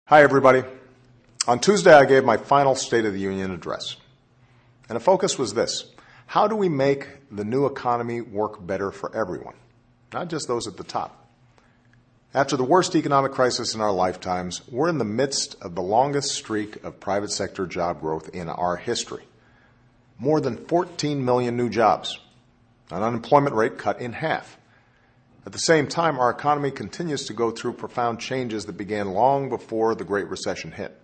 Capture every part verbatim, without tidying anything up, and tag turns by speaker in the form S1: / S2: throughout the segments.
S1: Hi, everybody. On Tuesday, I gave my final State of the Union address. And the focus was this: how do we make the new economy work better for everyone, not just those at the top? After the worst economic crisis in our lifetimes, we're in the midst of the longest streak of private sector job growth in our history. More than fourteen million new jobs, an unemployment rate cut in half. At the same time, our economy continues to go through profound changes that began long before the Great Recession hit.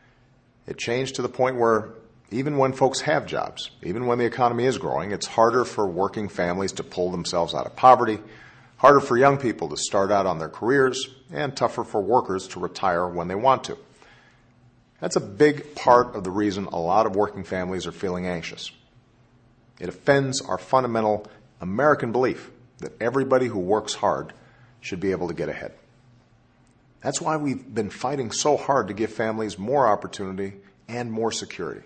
S1: It changed to the point where even when folks have jobs, even when the economy is growing, it's harder for working families to pull themselves out of poverty, harder for young people to start out on their careers, and tougher for workers to retire when they want to. That's a big part of the reason a lot of working families are feeling anxious. It offends our fundamental American belief that everybody who works hard should be able to get ahead. That's why we've been fighting so hard to give families more opportunity and more security,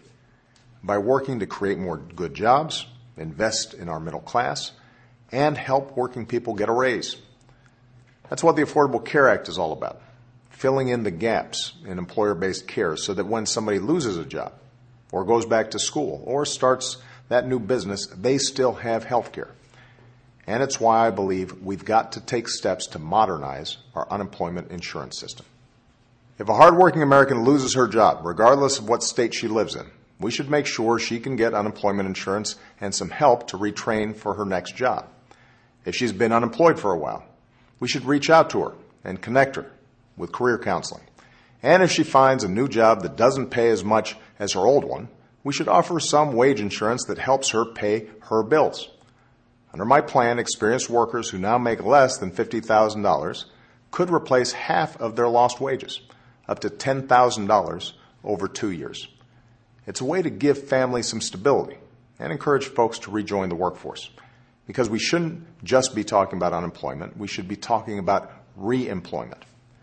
S1: by working to create more good jobs, invest in our middle class, and help working people get a raise. That's what the Affordable Care Act is all about, filling in the gaps in employer-based care so that when somebody loses a job or goes back to school or starts that new business, they still have health care. And it's why I believe we've got to take steps to modernize our unemployment insurance system. If a hardworking American loses her job, regardless of what state she lives in, we should make sure she can get unemployment insurance and some help to retrain for her next job. If she's been unemployed for a while, we should reach out to her and connect her with career counseling. And if she finds a new job that doesn't pay as much as her old one, we should offer some wage insurance that helps her pay her bills. Under my plan, experienced workers who now make less than fifty thousand dollars could replace half of their lost wages, up to ten thousand dollars over two years. It's a way to give families some stability and encourage folks to rejoin the workforce, because we shouldn't just be talking about unemployment. We should be talking about re-employment.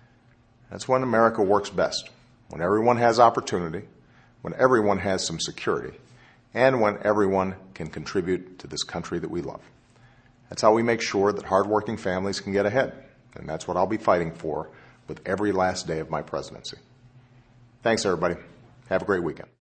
S1: That's when America works best, when everyone has opportunity, when everyone has some security, and when everyone can contribute to this country that we love. That's how we make sure that hardworking families can get ahead, and that's what I'll be fighting for with every last day of my presidency. Thanks, everybody. Have a great weekend.